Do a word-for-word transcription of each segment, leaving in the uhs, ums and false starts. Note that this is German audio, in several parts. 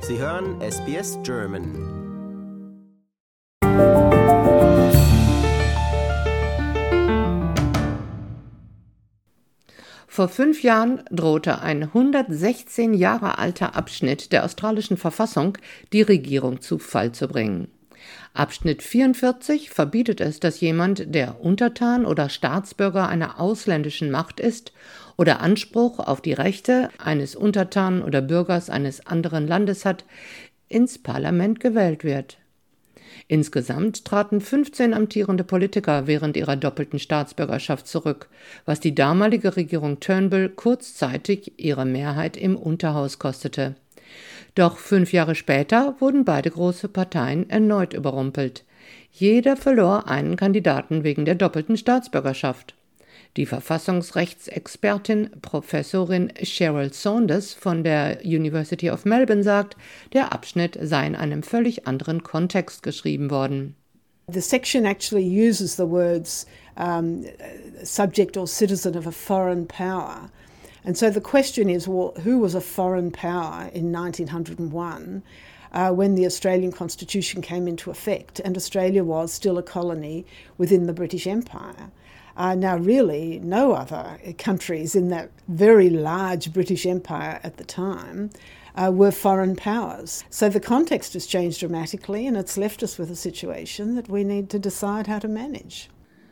Sie hören S B S German. Vor fünf Jahren drohte ein hundertsechzehn Jahre alter Abschnitt der australischen Verfassung, die Regierung zu Fall zu bringen. Abschnitt vierundvierzig verbietet es, dass jemand, der Untertan oder Staatsbürger einer ausländischen Macht ist oder Anspruch auf die Rechte eines Untertanen oder Bürgers eines anderen Landes hat, ins Parlament gewählt wird. Insgesamt traten fünfzehn amtierende Politiker während ihrer doppelten Staatsbürgerschaft zurück, was die damalige Regierung Turnbull kurzzeitig ihre Mehrheit im Unterhaus kostete. Doch fünf Jahre später wurden beide große Parteien erneut überrumpelt. Jeder verlor einen Kandidaten wegen der doppelten Staatsbürgerschaft. Die Verfassungsrechtsexpertin Professorin Cheryl Saunders von der University of Melbourne sagt, der Abschnitt sei in einem völlig anderen Kontext geschrieben worden. The section actually uses the words um, subject or citizen of a foreign power. And so the question is, well, who was a foreign power in nineteen oh one uh, when the Australian Constitution came into effect and Australia was still a colony within the British Empire? Uh, now, really, no other countries in that very large British Empire at the time uh, were foreign powers. So the context has changed dramatically, and it's left us with a situation that we need to decide how to manage.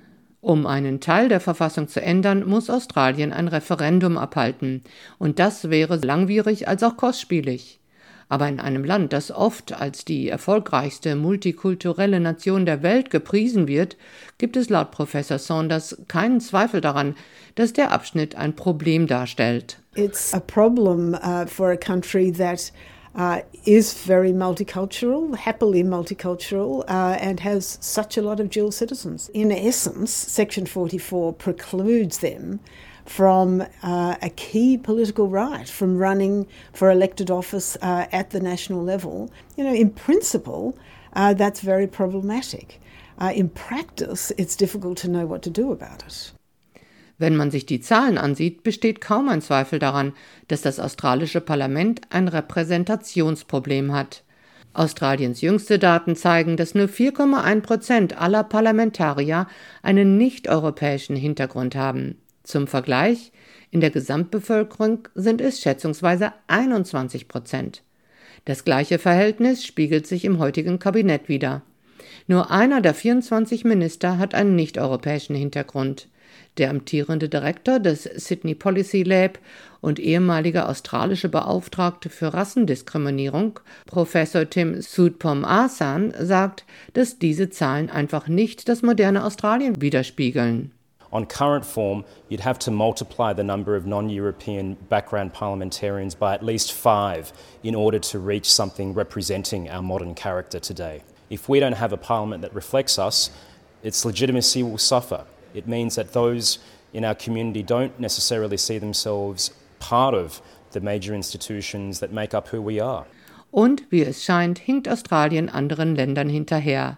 Um einen Teil der Verfassung zu ändern, muss Australien ein Referendum abhalten. Und das wäre langwierig als auch kostspielig. Aber in einem Land, das oft als die erfolgreichste multikulturelle Nation der Welt gepriesen wird, gibt es laut Professor Saunders keinen Zweifel daran, dass der Abschnitt ein Problem darstellt. It's a problem uh, for a country that uh, is very multicultural, happily multicultural, uh, and has such a lot of dual citizens. In essence, Section forty-four precludes them from uh, a key political right, from running for elected office uh, at the national level. You know, in principle, uh, that's very problematic. Uh, in practice, it's difficult to know what to do about it. Wenn man sich die Zahlen ansieht, besteht kaum ein Zweifel daran, dass das australische Parlament ein Repräsentationsproblem hat. Australiens jüngste Daten zeigen, dass nur vier Komma eins Prozent aller Parlamentarier einen nicht-europäischen Hintergrund haben. Zum Vergleich, in der Gesamtbevölkerung sind es schätzungsweise einundzwanzig Prozent. Das gleiche Verhältnis spiegelt sich im heutigen Kabinett wider. Nur einer der vierundzwanzig Minister hat einen nicht-europäischen Hintergrund. Der amtierende Direktor des Sydney Policy Lab und ehemalige australische Beauftragte für Rassendiskriminierung, Professor Tim Soutphommasane, sagt, dass diese Zahlen einfach nicht das moderne Australien widerspiegeln. On current form, you'd have to multiply the number of non-European background parliamentarians by at least five in order to reach something representing our modern character today. If we don't have a parliament that reflects us, its legitimacy will suffer. It means that those in our community don't necessarily see themselves part of the major institutions that make up who we are. Und wie es scheint, hinkt Australien anderen Ländern hinterher.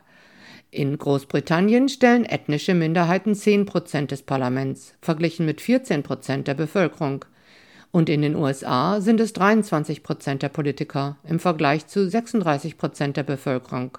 In Großbritannien stellen ethnische Minderheiten zehn Prozent des Parlaments, verglichen mit vierzehn Prozent der Bevölkerung. Und in den U S A sind es dreiundzwanzig Prozent der Politiker im Vergleich zu sechsunddreißig Prozent der Bevölkerung.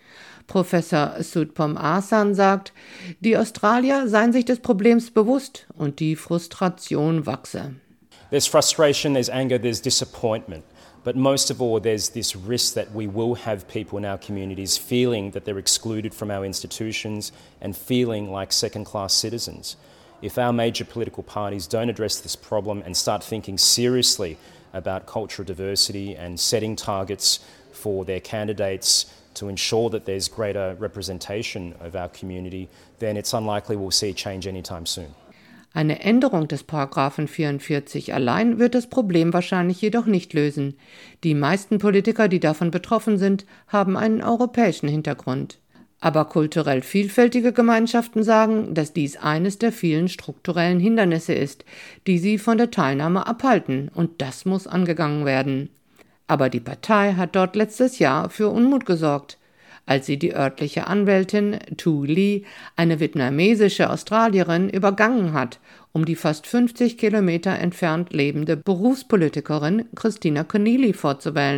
Professor Soutphommasane sagt, die Australier seien sich des Problems bewusst und die Frustration wachse. There's frustration, there's anger, there's disappointment. But most of all, there's this risk that we will have people in our communities feeling that they're excluded from our institutions and feeling like second-class citizens. If our major political parties don't address this problem and start thinking seriously about cultural diversity and setting targets for their candidates to ensure that there's greater representation of our community, then it's unlikely we'll see change anytime soon. Eine Änderung des Paragraphen vierundvierzig allein wird das Problem wahrscheinlich jedoch nicht lösen. Die meisten Politiker, die davon betroffen sind, haben einen europäischen Hintergrund. Aber kulturell vielfältige Gemeinschaften sagen, dass dies eines der vielen strukturellen Hindernisse ist, die sie von der Teilnahme abhalten, und das muss angegangen werden. Aber die Partei hat dort letztes Jahr für Unmut gesorgt, als sie die örtliche Anwältin Tu Lee, eine vietnamesische Australierin, übergangen hat, um die fast fünfzig Kilometer entfernt lebende Berufspolitikerin Christina Keneally vorzuwählen.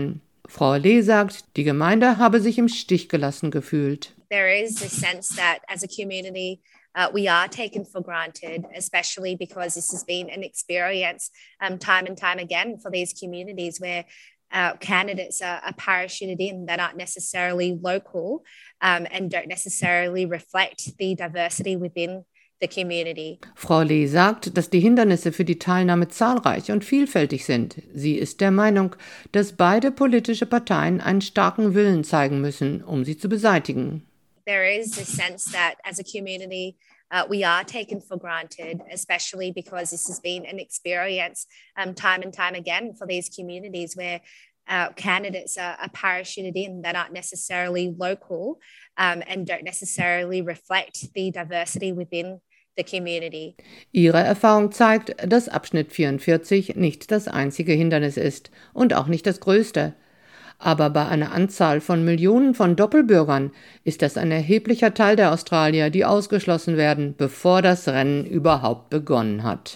Frau Lee sagt, die Gemeinde habe sich im Stich gelassen gefühlt. There is a sense that as a community uh, we are taken for granted, especially because this has been an experience um, time and time again for these communities where uh, candidates are, are parachuted in that aren't necessarily local um, and don't necessarily reflect the diversity within the community. Frau Lee sagt, dass die Hindernisse für die Teilnahme zahlreich und vielfältig sind. Sie ist der Meinung, dass beide politische Parteien einen starken Willen zeigen müssen, um sie zu beseitigen. There is a sense that as a community uh, we are taken for granted, especially because this has been an experience um, time and time again for these communities where uh, candidates are, are parachuted in that aren't necessarily local um, and don't necessarily reflect the diversity within the community. Ihre Erfahrung zeigt, dass Abschnitt vierundvierzig nicht das einzige Hindernis ist und auch nicht das größte. Aber bei einer Anzahl von Millionen von Doppelbürgern ist das ein erheblicher Teil der Australier, die ausgeschlossen werden, bevor das Rennen überhaupt begonnen hat.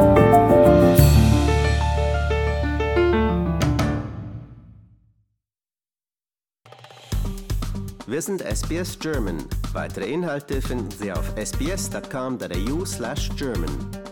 Wir sind S B S German. Weitere Inhalte finden Sie auf s b s dot com dot a u slash German.